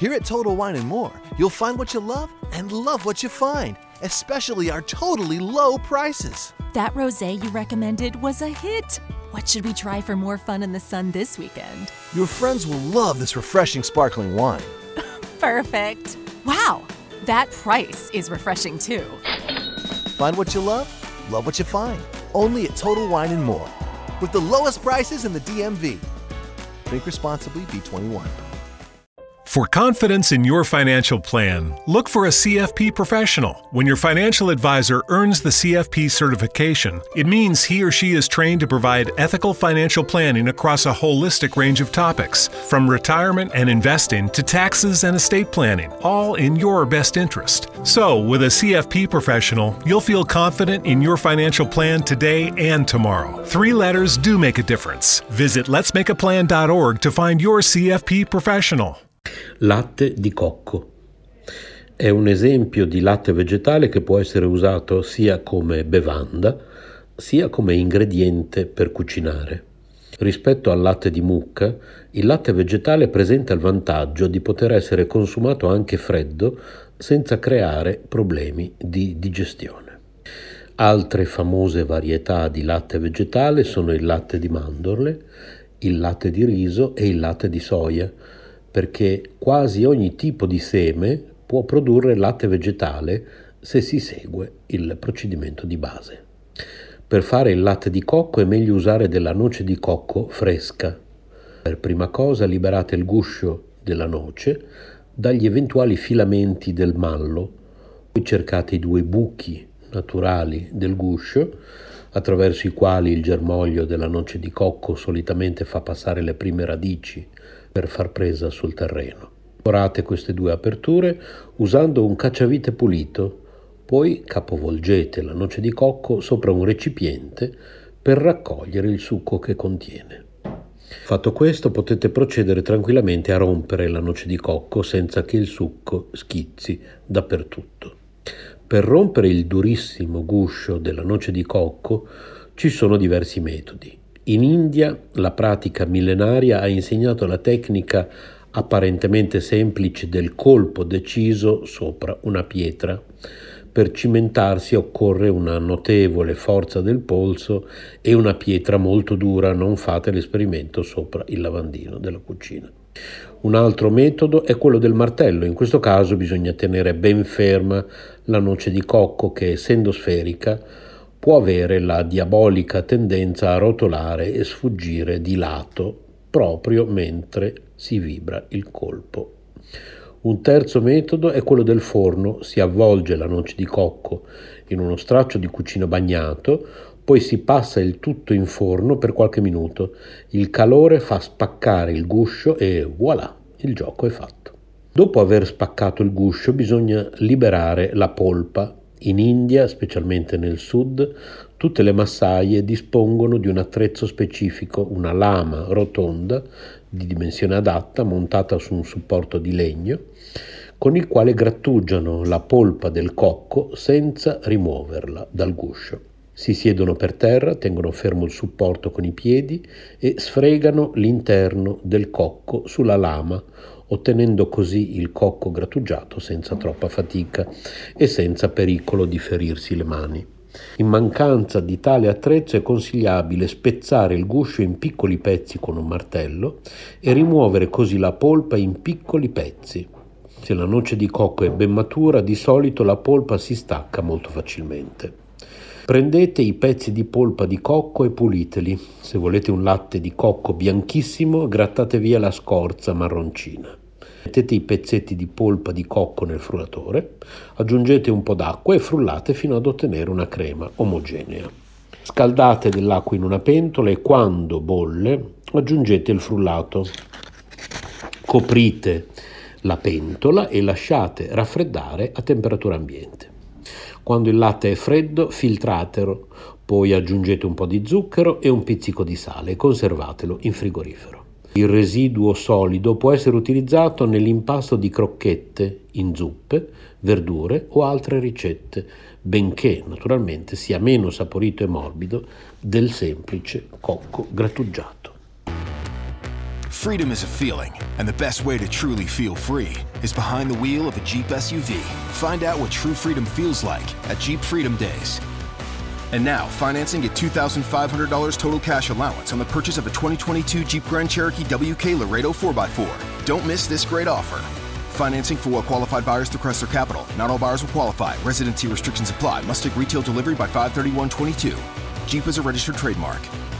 Here at Total Wine & More, you'll find what you love and love what you find, especially our totally low prices. That rosé you recommended was a hit. What should we try for more fun in the sun this weekend? Your friends will love this refreshing sparkling wine. Perfect. Wow, that price is refreshing too. Find what you love what you find. Only at Total Wine & More. With the lowest prices in the DMV. Drink responsibly, B21. For confidence in your financial plan, look for a CFP professional. When your financial advisor earns the CFP certification, it means he or she is trained to provide ethical financial planning across a holistic range of topics, from retirement and investing to taxes and estate planning, all in your best interest. So, with a CFP professional, you'll feel confident in your financial plan today and tomorrow. 3 letters do make a difference. Visit letsmakeaplan.org to find your CFP professional. Latte di cocco. È un esempio di latte vegetale che può essere usato sia come bevanda, sia come ingrediente per cucinare. Rispetto al latte di mucca, il latte vegetale presenta il vantaggio di poter essere consumato anche freddo senza creare problemi di digestione. Altre famose varietà di latte vegetale sono il latte di mandorle, il latte di riso e il latte di soia, perché quasi ogni tipo di seme può produrre latte vegetale se si segue il procedimento di base. Per fare il latte di cocco è meglio usare della noce di cocco fresca. Per prima cosa liberate il guscio della noce dagli eventuali filamenti del mallo, poi cercate i 2 buchi naturali del guscio attraverso i quali il germoglio della noce di cocco solitamente fa passare le prime radici per far presa sul terreno. Lavorate queste 2 aperture usando un cacciavite pulito, poi capovolgete la noce di cocco sopra un recipiente per raccogliere il succo che contiene. Fatto questo, potete procedere tranquillamente a rompere la noce di cocco senza che il succo schizzi dappertutto. Per rompere il durissimo guscio della noce di cocco ci sono diversi metodi. In India la pratica millenaria ha insegnato la tecnica apparentemente semplice del colpo deciso sopra una pietra. Per cimentarsi occorre una notevole forza del polso e una pietra molto dura, non fate l'esperimento sopra il lavandino della cucina. Un altro metodo è quello del martello. In questo caso bisogna tenere ben ferma la noce di cocco che, essendo sferica, può avere la diabolica tendenza a rotolare e sfuggire di lato proprio mentre si vibra il colpo. Un terzo metodo è quello del forno. Si avvolge la noce di cocco in uno straccio di cucina bagnato, poi si passa il tutto in forno per qualche minuto. Il calore fa spaccare il guscio e voilà, il gioco è fatto. Dopo aver spaccato il guscio bisogna liberare la polpa. In India, specialmente nel sud, tutte le massaie dispongono di un attrezzo specifico, una lama rotonda di dimensione adatta montata su un supporto di legno, con il quale grattugiano la polpa del cocco senza rimuoverla dal guscio. Si siedono per terra, tengono fermo il supporto con i piedi e sfregano l'interno del cocco sulla lama, ottenendo così il cocco grattugiato senza troppa fatica e senza pericolo di ferirsi le mani. In mancanza di tale attrezzo è consigliabile spezzare il guscio in piccoli pezzi con un martello e rimuovere così la polpa in piccoli pezzi. Se la noce di cocco è ben matura, di solito la polpa si stacca molto facilmente. Prendete i pezzi di polpa di cocco e puliteli. Se volete un latte di cocco bianchissimo, grattate via la scorza marroncina. Mettete i pezzetti di polpa di cocco nel frullatore, aggiungete un po' d'acqua e frullate fino ad ottenere una crema omogenea. Scaldate dell'acqua in una pentola e quando bolle aggiungete il frullato. Coprite la pentola e lasciate raffreddare a temperatura ambiente. Quando il latte è freddo, filtratelo, poi aggiungete un po' di zucchero e un pizzico di sale e conservatelo in frigorifero. Il residuo solido può essere utilizzato nell'impasto di crocchette, in zuppe, verdure o altre ricette, benché naturalmente sia meno saporito e morbido del semplice cocco grattugiato. Freedom is a feeling, and the best way to truly feel free is behind the wheel of a Jeep SUV. Find out what true freedom feels like at Jeep Freedom Days. And now, financing at $2,500 total cash allowance on the purchase of a 2022 Jeep Grand Cherokee WK Laredo 4x4. Don't miss this great offer. Financing for well-qualified buyers through Chrysler Capital. Not all buyers will qualify. Residency restrictions apply. Must take retail delivery by 5/31/22. Jeep is a registered trademark.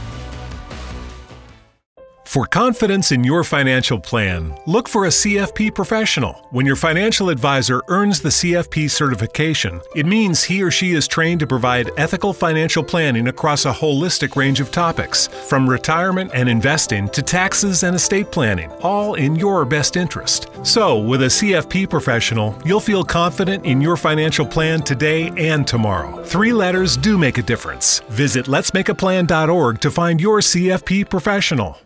For confidence in your financial plan, look for a CFP professional. When your financial advisor earns the CFP certification, it means he or she is trained to provide ethical financial planning across a holistic range of topics, from retirement and investing to taxes and estate planning, all in your best interest. So, with a CFP professional, you'll feel confident in your financial plan today and tomorrow. 3 letters do make a difference. Visit letsmakeaplan.org to find your CFP professional.